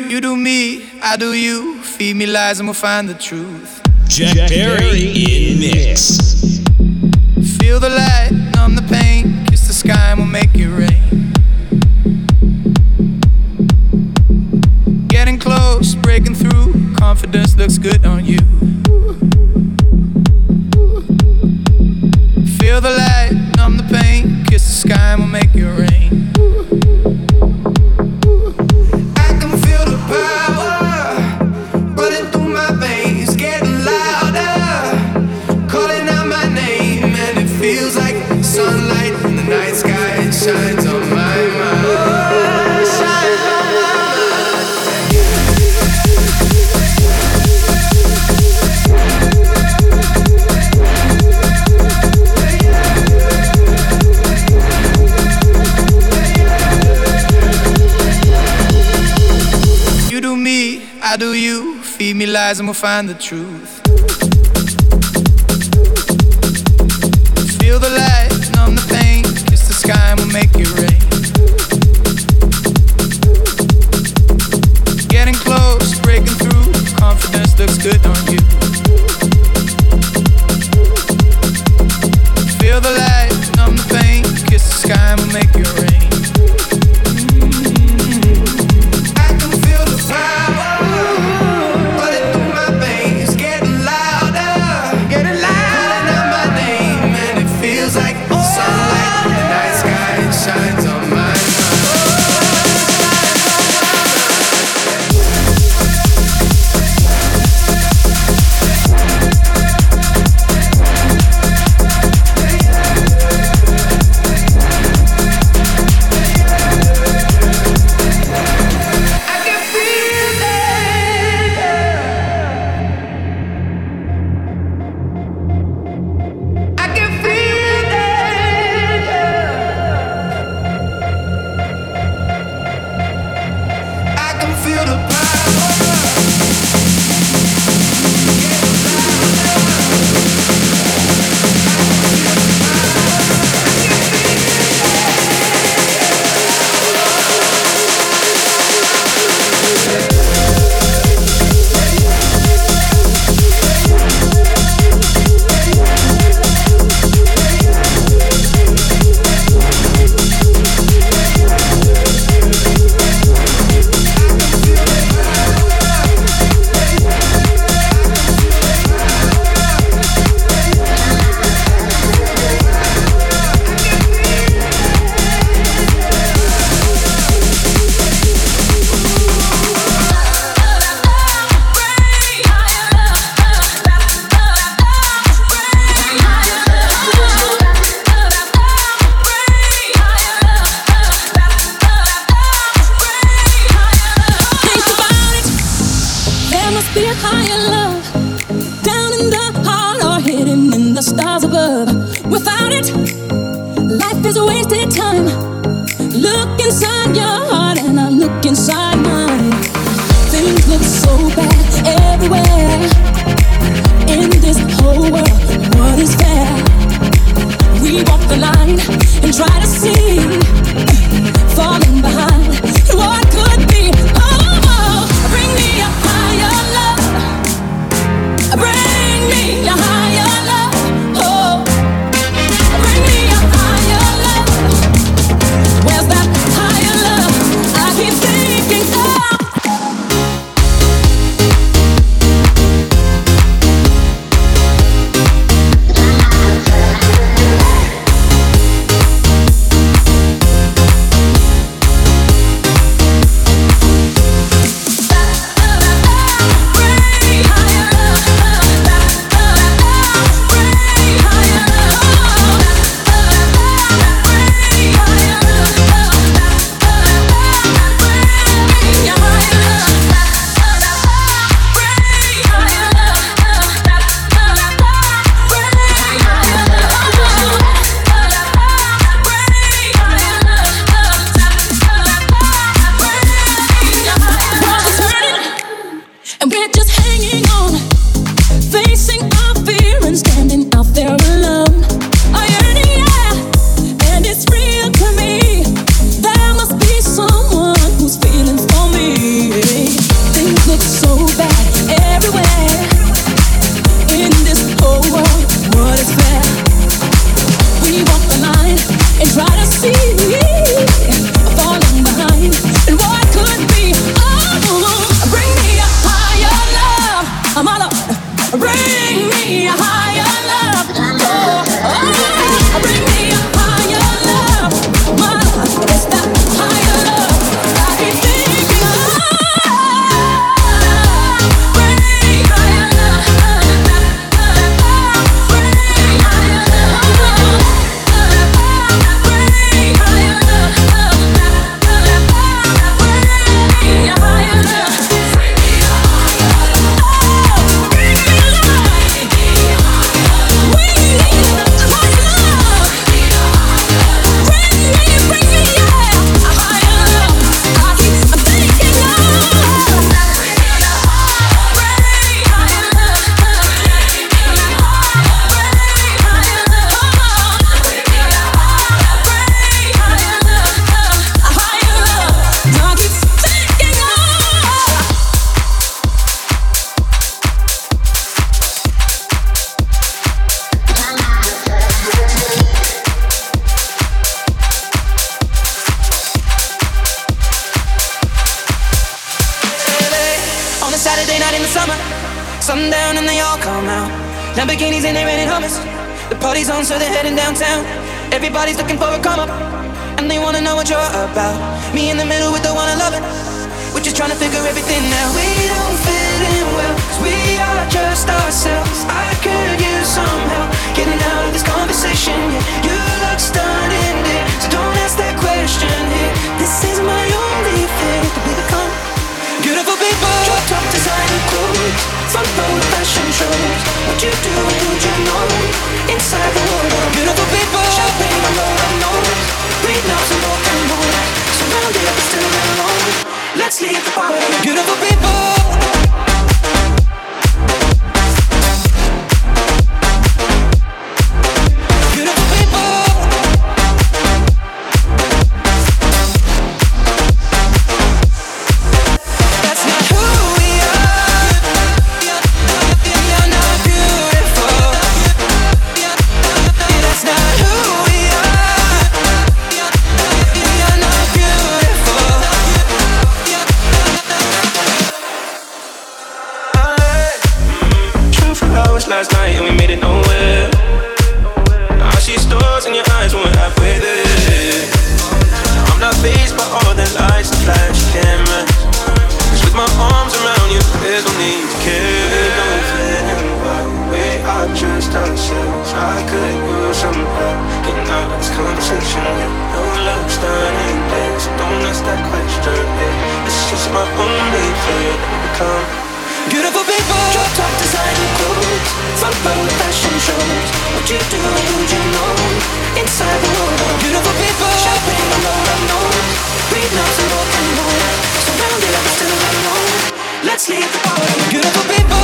You do me, I do you. Feed me lies and we'll find the truth. Jack Perry in mix. Feel the light, numb the pain. Kiss the sky and we'll make it rain. Getting close, breaking through. Confidence looks good on you. Feel the light, numb the pain. Kiss the sky and we'll make it rain. I can feel the power running through my veins, getting louder, calling out my name, and it feels like sunlight in the night sky. It shines on my mind. Shines on my I do you, feed me lies and we'll find the truth. Feel the light, numb the pain, kiss the sky and we'll make it rain. Getting close, breaking through, confidence looks good on you. Feel the light, numb the pain, kiss the sky and we'll make it rain. Like Saturday night in the summer, sundown and they all come out. Lamborghinis and they renting Hummers. The party's on, so they're heading downtown. Everybody's looking for a come up, and they wanna know what you're about. Me in the middle with the one I love it. We're just trying to figure everything out. We don't fit in well, 'cause we are just ourselves. I could use some help getting out of this conversation. Yeah, you look stunning, dear, so don't ask that question here. This is my only fear, that we become beautiful people. Drop top designer clothes, front row fashion shows. What you do and who'd you know? Inside the world of beautiful people. Champagne on our nose, breathe now some more and more. Surrounded but still alone. Let's leave the party. Beautiful people. Last night and we made it nowhere. I see stars in your eyes when we're halfway there. I'm not fazed by all the lights and flash cameras. 'Cause with my arms around you, there's no need to care. We don't fit in well, we are just ourselves. I could use some help getting out of this conversation. No love's done in there, so don't ask that question. It's just my only fear that we become beautiful people. Drop top designer clothes, front row fashion shows. What you do and who'd you know? Inside the world of beautiful people. Champagne on our nose, breathe now some more and more. Surrounded but still alone. Let's leave the party. Beautiful people.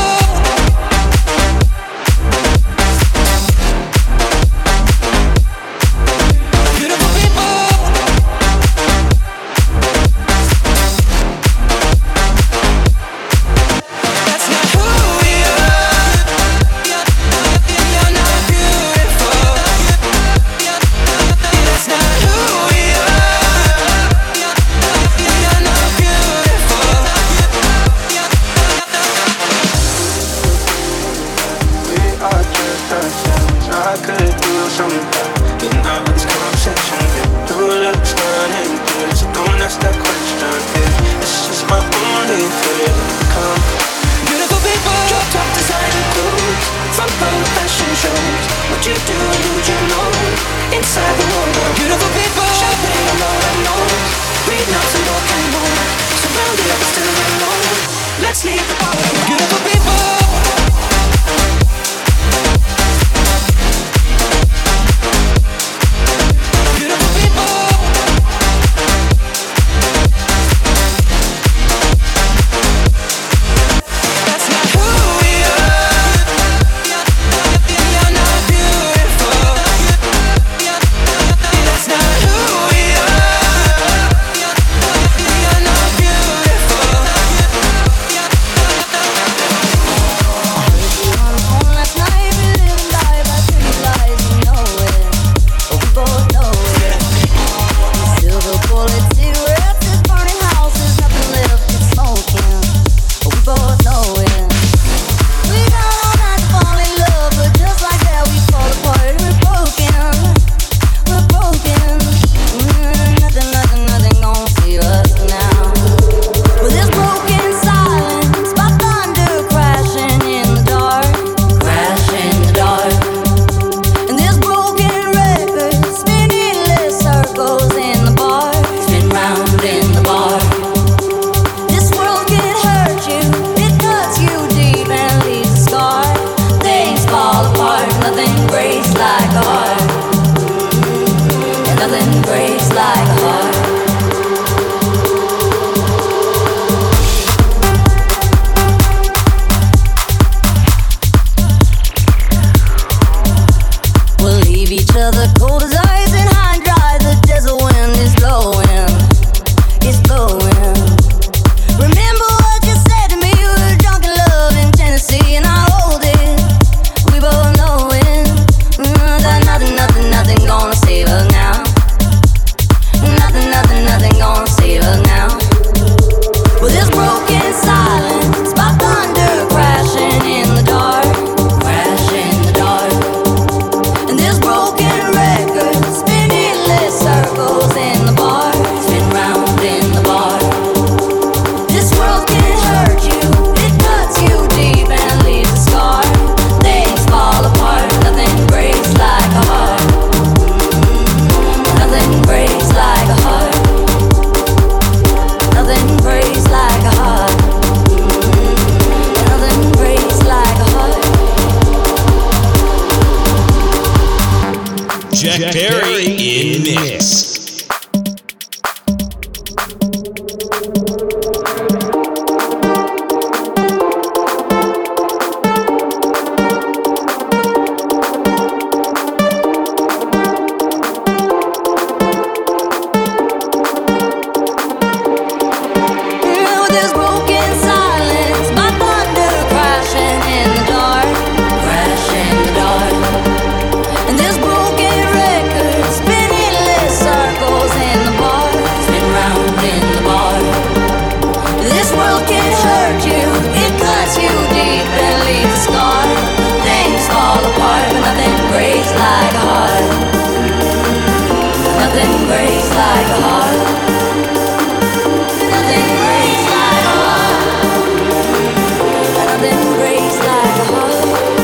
There's broken silence, my thunder crashing in the dark, crashing in the dark. And there's broken records spinning lit circles in the bar, spin round in the bar. This world can hurt you, it cuts you deep and leaves a scar. Things fall apart, but nothing breaks like a heart. Nothing breaks like a heart. Nothing breaks like a heart. Nothing breaks like a heart.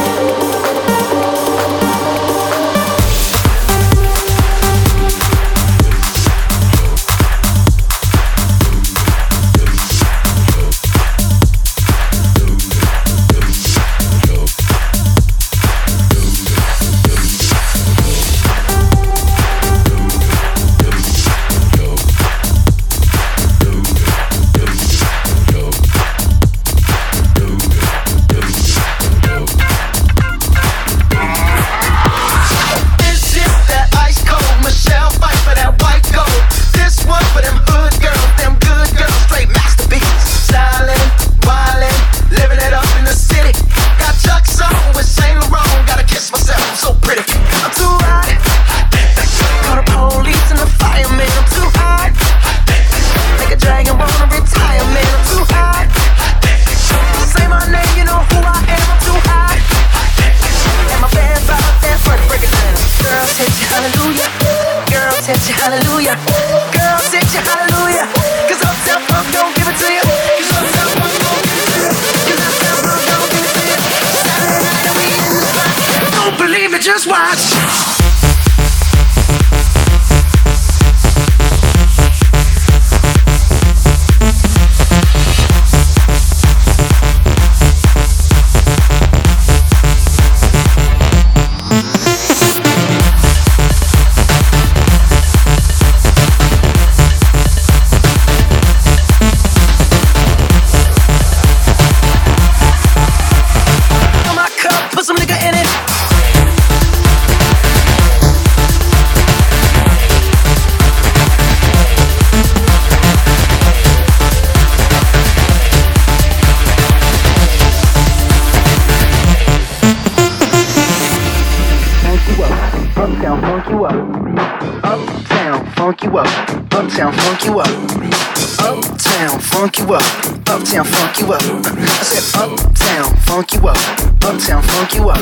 Hallelujah, girl, sit your hallelujah. 'Cause Uptown Funk don't give it to you. 'Cause Uptown Funk don't give it to you. 'Cause Uptown Funk don't give it to you. Saturday night and we in the spot. Don't believe it, just watch. Uptown funk you up. Uptown funk you up. Uptown funk you up. I said uptown funk you up. Uptown funk you up.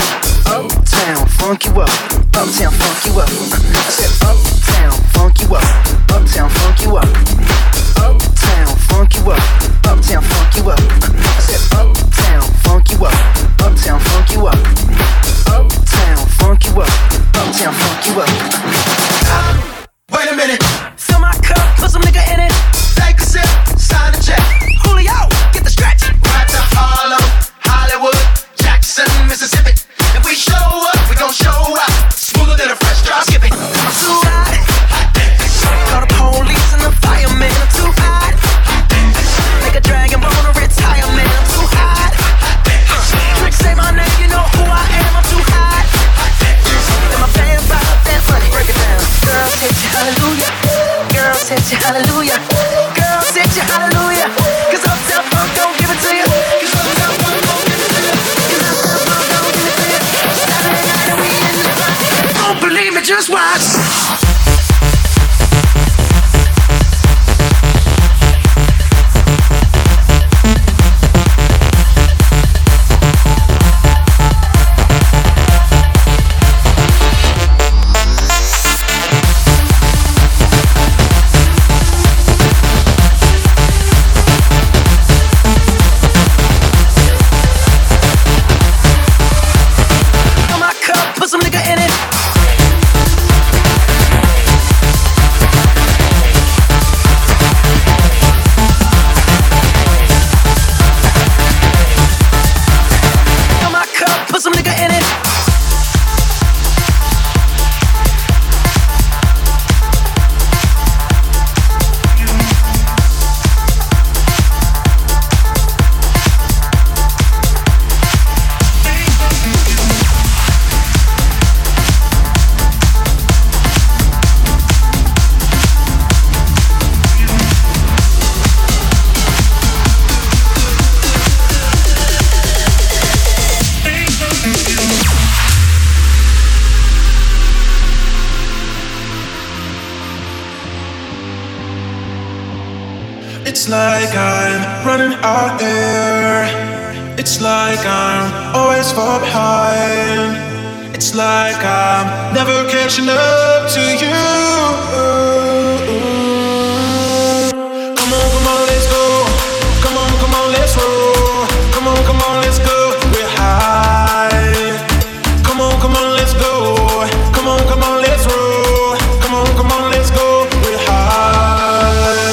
Uptown funk you up. Uptown funk you up. I said uptown funk you up. Uptown funk you up. Uptown funk you up. Uptown funk you up. I said uptown funk you up. Uptown funk you up. Uptown funk you up. Uptown funk you up. Wait a minute. Fill my cup, put some nigga in it. Take a sip, sign the check. Julio, get the stretch. Right to Harlem, Hollywood, Jackson, Mississippi. If we show up, we gon' show out. Smoother than a fresh drop skipping. I'm too hot. Call the police and the fireman. I'm too hot. Make a dragon bone to retirement. I'm too hot. Trick say my name, you know who I am. I'm too hot. And my band about that money. Break it down. Girls hit you, hallelujah. Girls hit you, hallelujah. Girls hit you, hallelujah. 'Cause Uptown Funk don't give it to you. 'Cause Uptown Funk don't give it to you. 'Cause Uptown Funk don't give it to you. Saturday night and we in the spot. Don't believe me, just watch. Put some nigga in it. It's like I'm running out of air. It's like I'm always far behind. It's like I'm never catching up to you. Come on, let's go. Come on, let's roll. Come on, let's go. We're high. Come on, let's go. Come on, let's roll. Come on, let's go. We're high.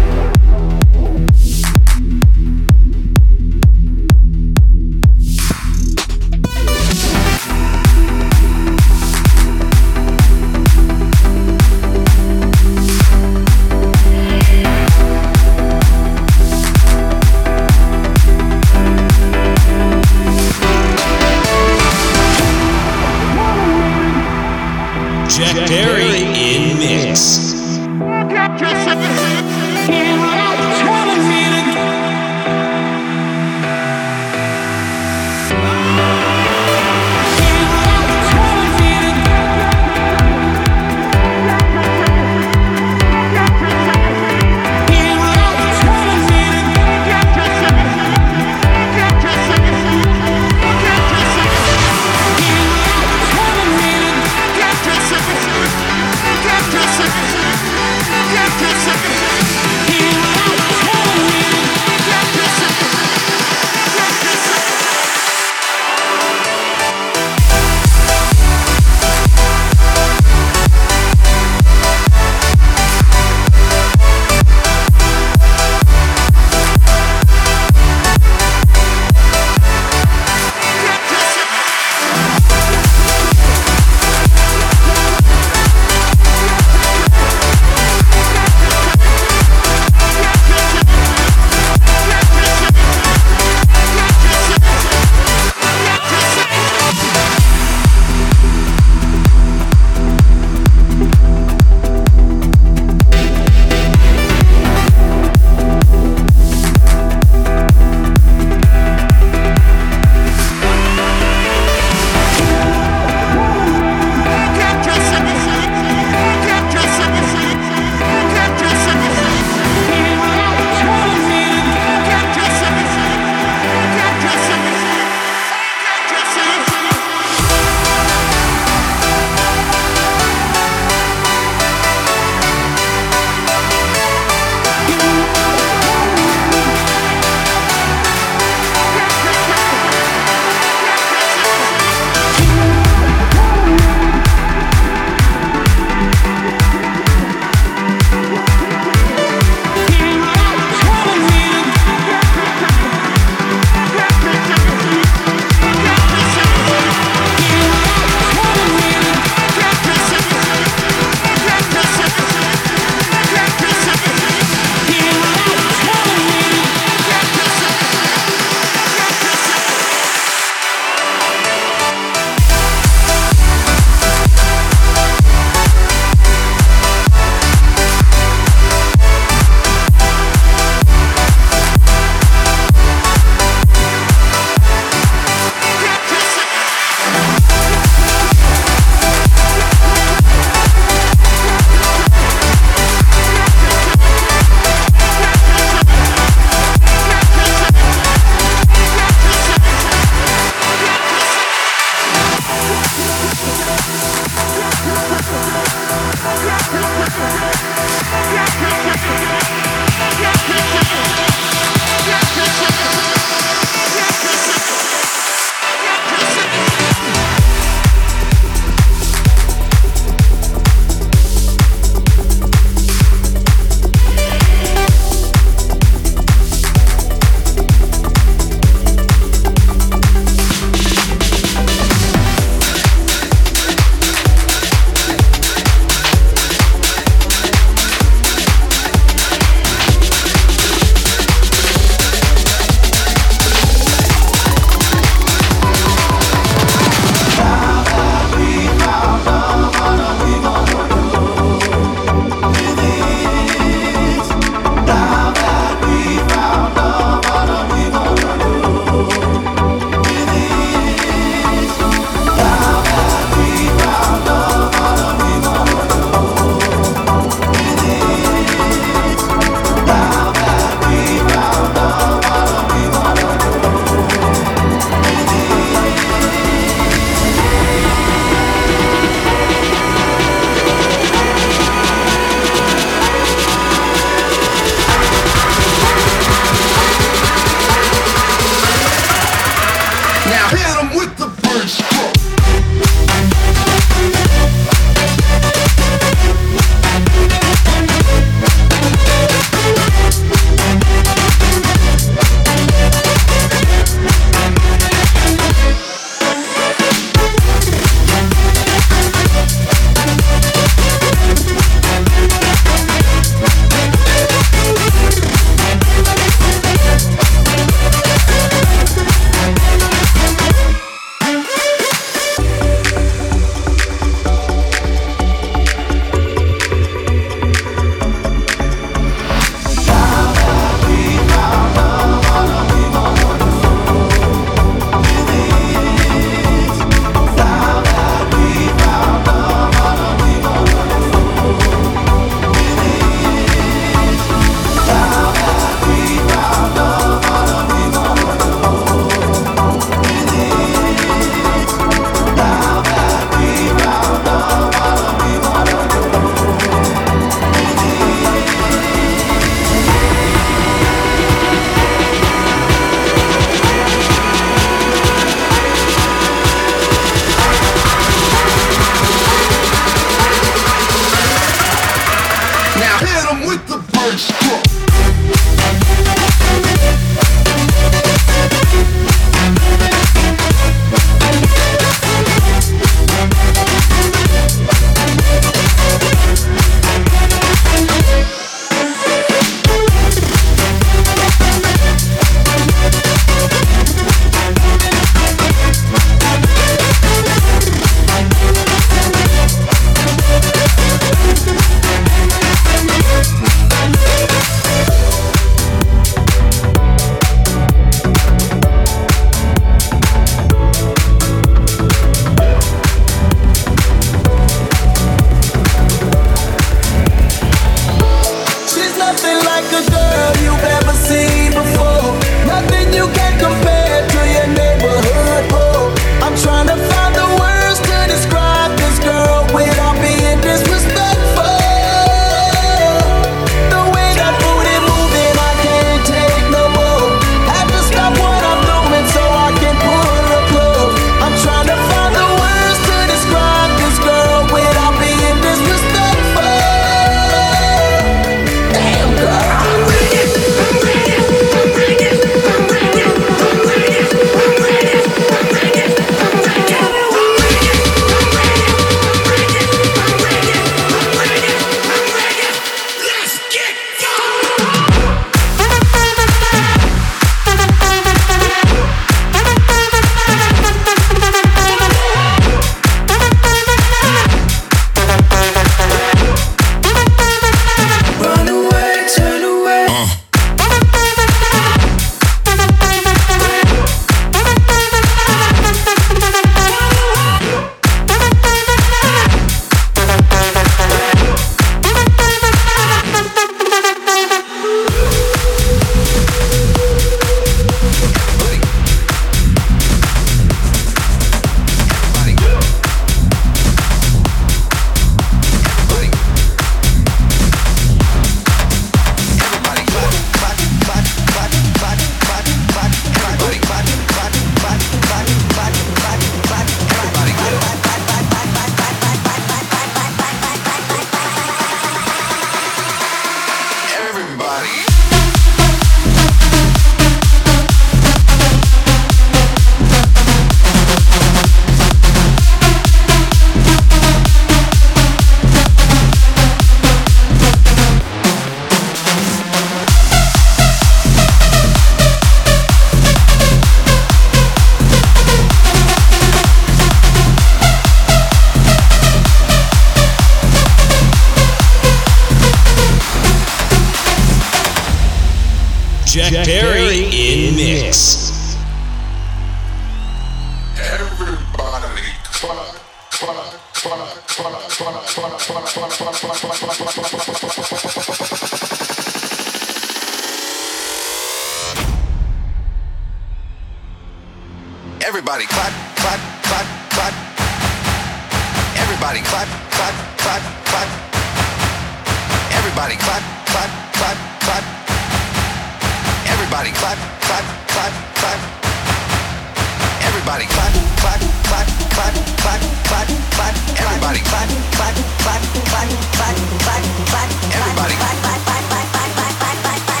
Everybody clap, clap, clap, clap. Everybody clap, clap, clap, clap. Everybody clap, clap, clap, clap. Everybody clap, clap, clap, clap. Everybody clap, clap, clap, clap, clap, clap, clap. Everybody clap, clap, clap, clap, clap, clap, clap. Everybody clap, clap, clap, clap, clap, clap, clap, clap,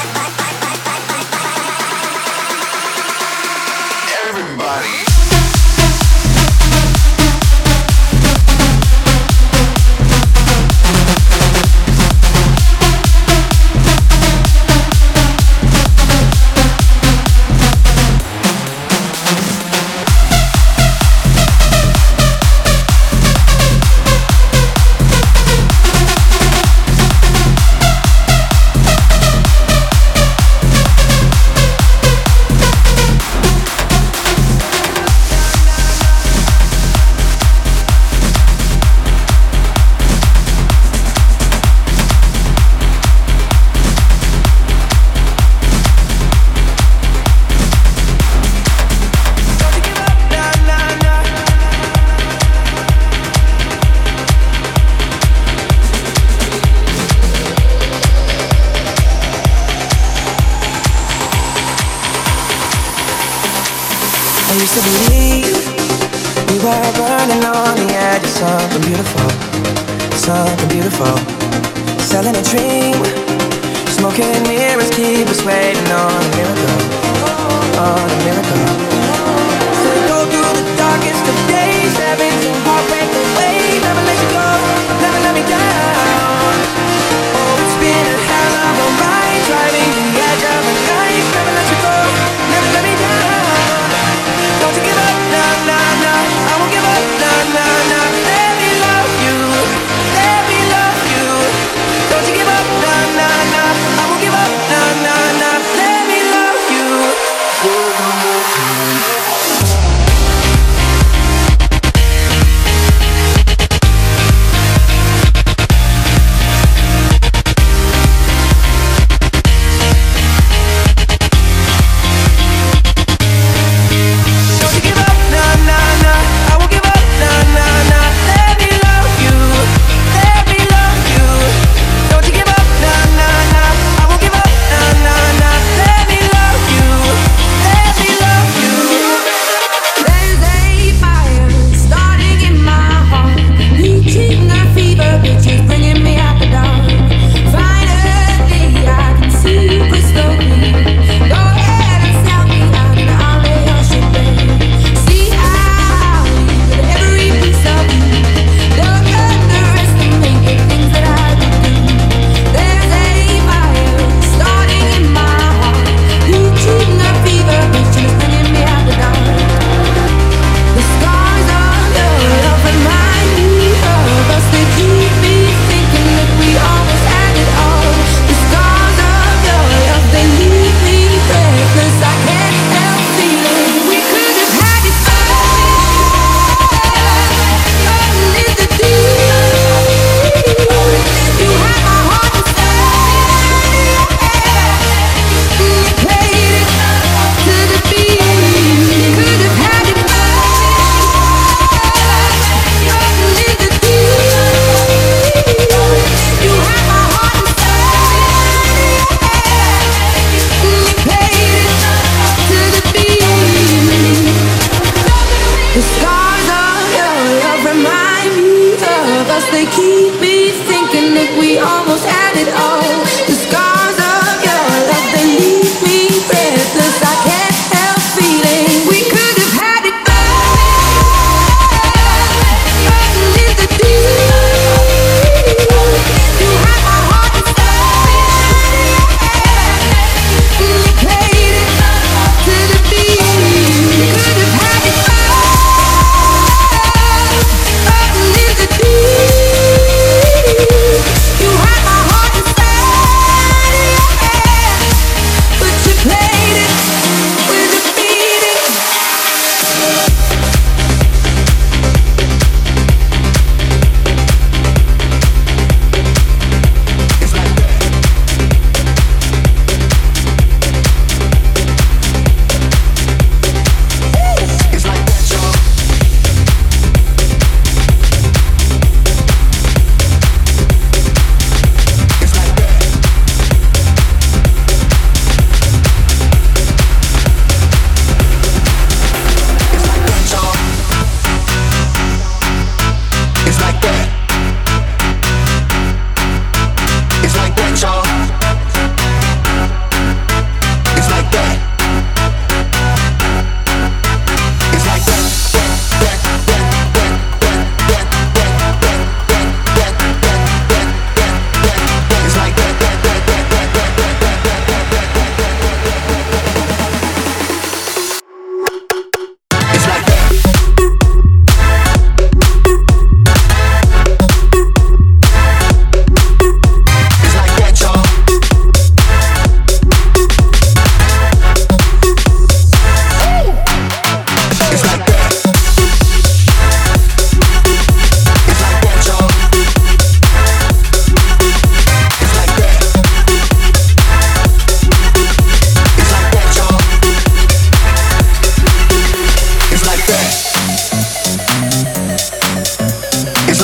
clap. Everybody. I used to believe we were burning on the edge of something beautiful, something beautiful. Selling a dream, smoking mirrors keep us waiting on a miracle, on a miracle. So go through the darkest of days, having to heartbreak away. Never let you go, never let me down. Oh, it's been a hell of a ride, driving the edge of the night. Never let you go, never let me down. Don't you give up, nah, nah, nah. I won't give up, nah, nah, nah. Let me love you, let me love you. Don't you give up, nah, nah, nah. I won't give up, nah, nah, nah. Let me love you.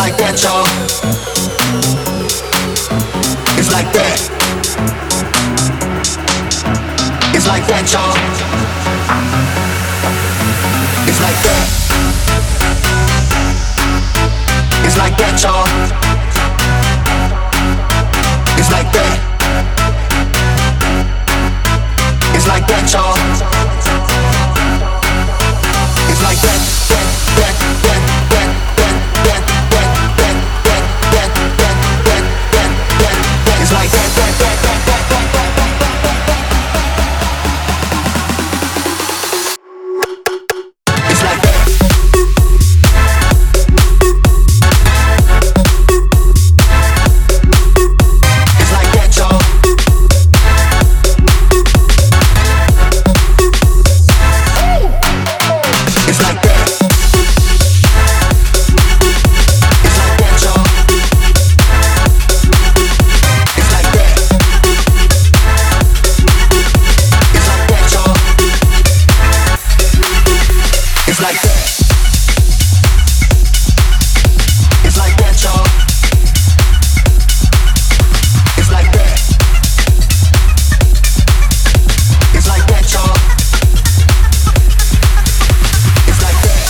like that, y'all. It's like that. It's like that, y'all. It's like that. It's like that, y'all. It's like that. It's like that, y'all. It's like that, It's like that. It's like that. It's like that, y'all. It's like that. It's like that, y'all. It's like that. It's like that, y'all. It's like that. It's like that, y'all. It's like that. It's like that, y'all. It's like that.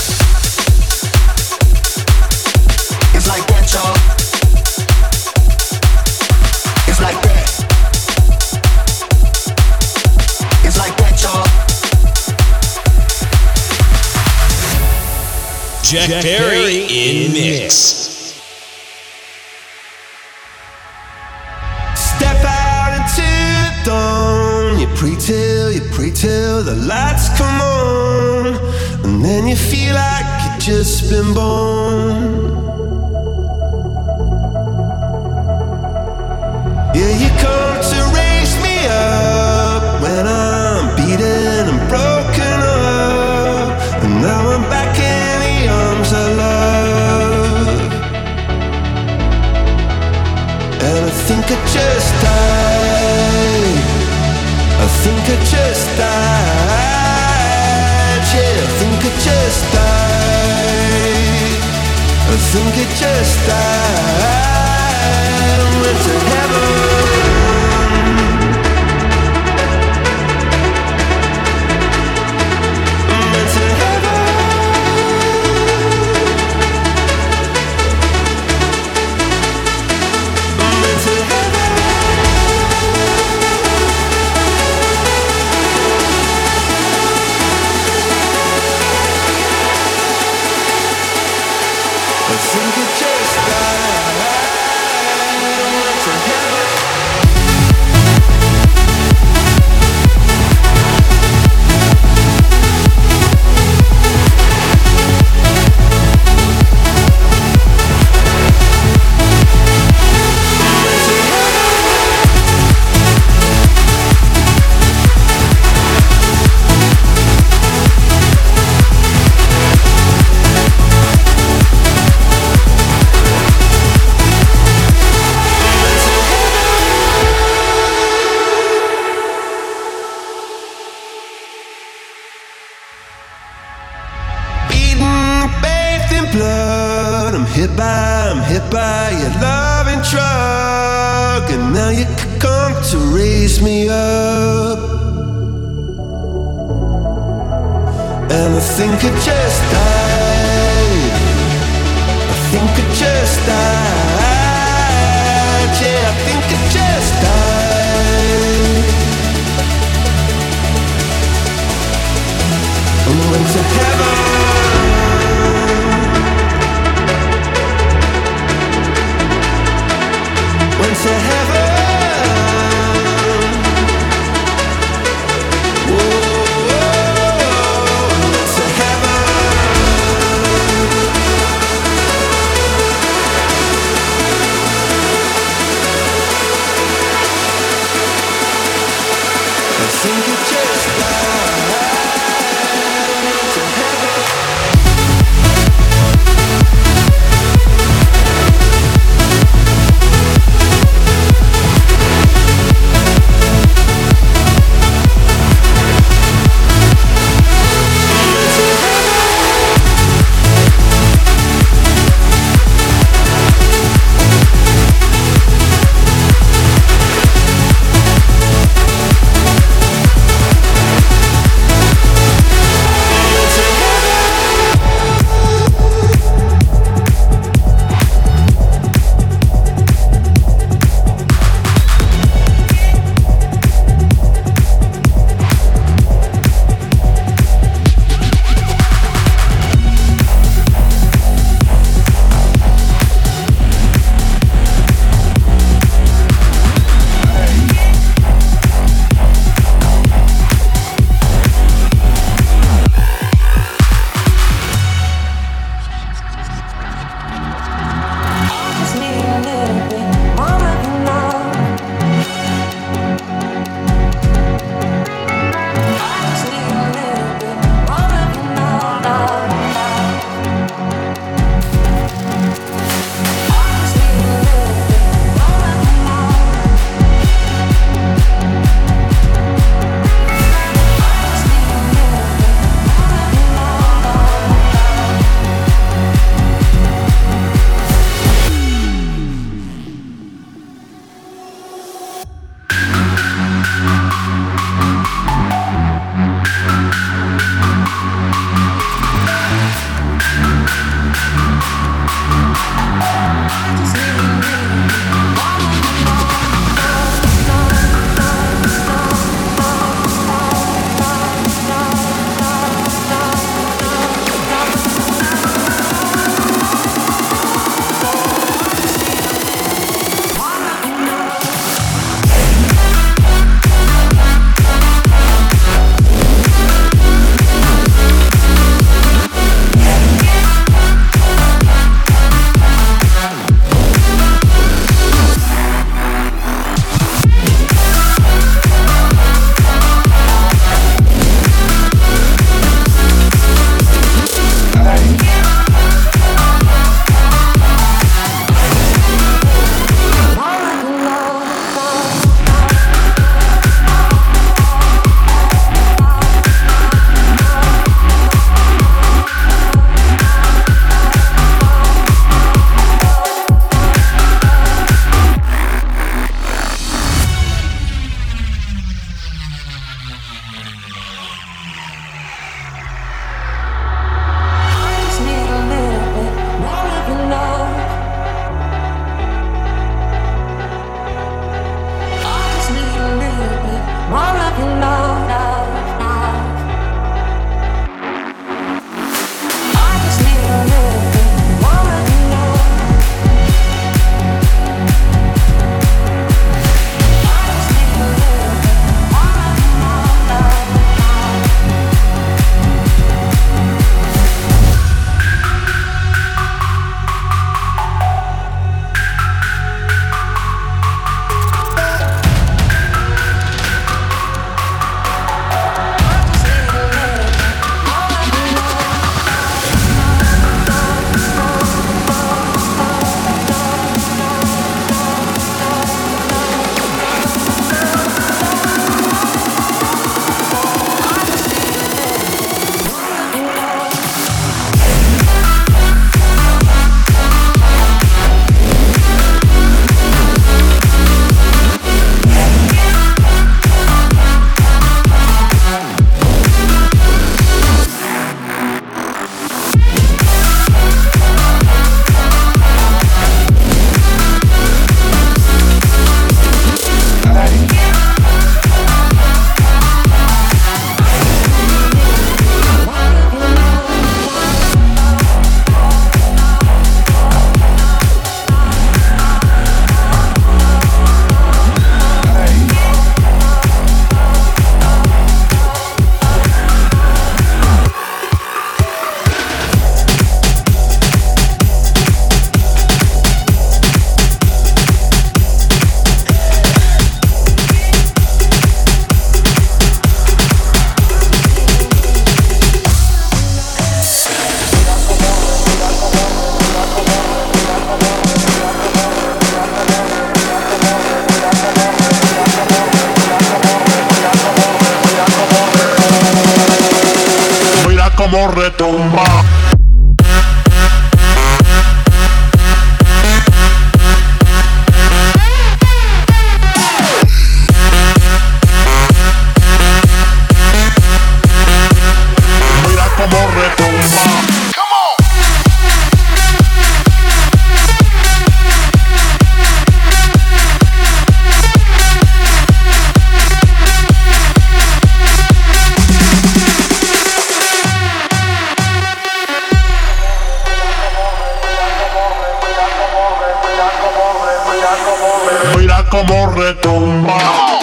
It's like that, y'all. It's like that. It's like that, y'all. Jack Perry in mix. Step out into the dawn. You pray till the lights come on, and then you feel like you've just been born. Yeah, you come to raise me up when I'm beaten and broken up, and now I'm back in the arms of love. And I think I just died. I think I just died. Yeah, I think I just died. I think I just died. I went to heaven. I went to heaven. I went to heaven. I think it just died. I went to heaven. Bathed in blood, I'm hit by your loving drug, and now you come to raise me up. And I think I just died. I think I just died. Yeah, I think I just died. I went to heaven. Went to heaven. Whoa, went to heaven. como retumba. Mira como retumba. Mira como retumba.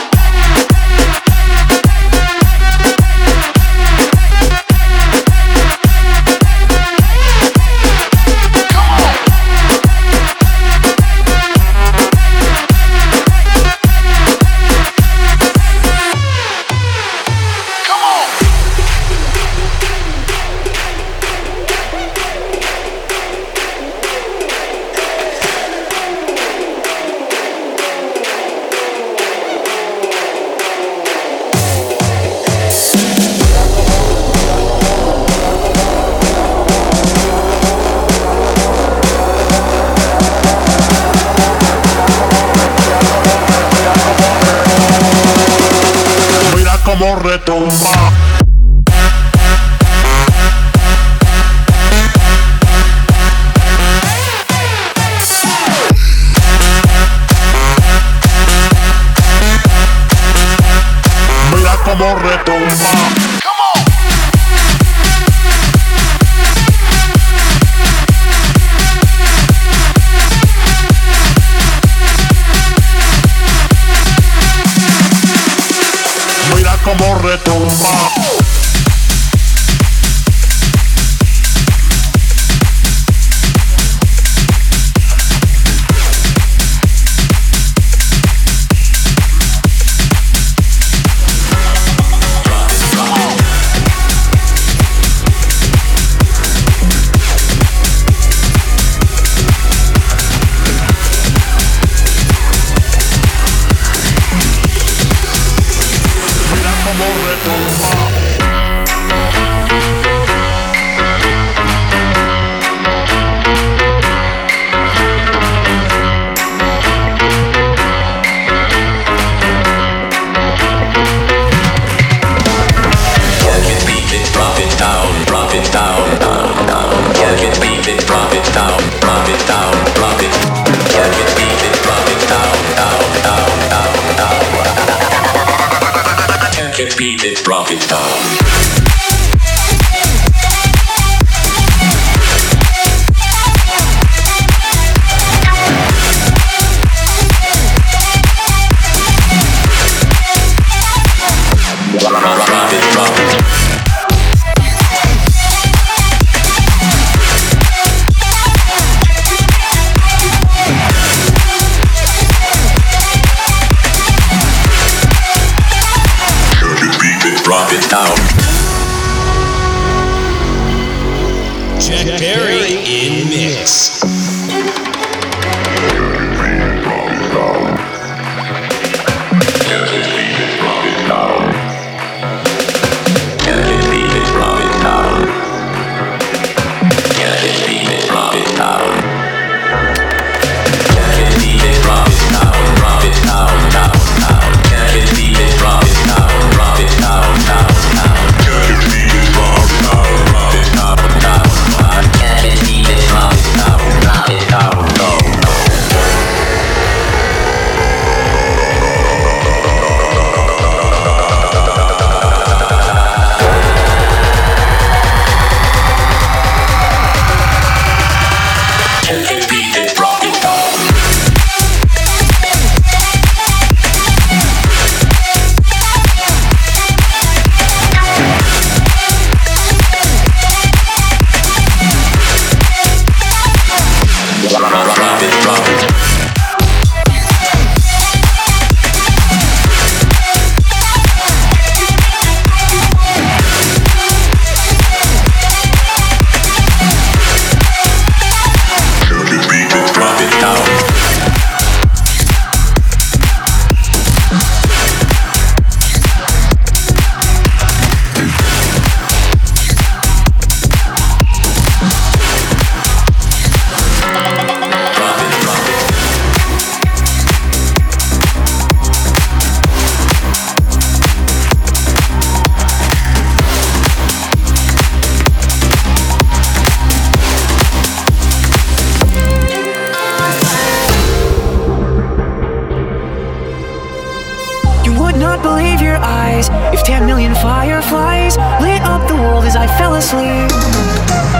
Como retumba. Mira como retumba. Como retumba. Beat it, drop it down. Drop it down. Jack Berry in mix. eyes. If 10 million fireflies lit up the world as I fell asleep,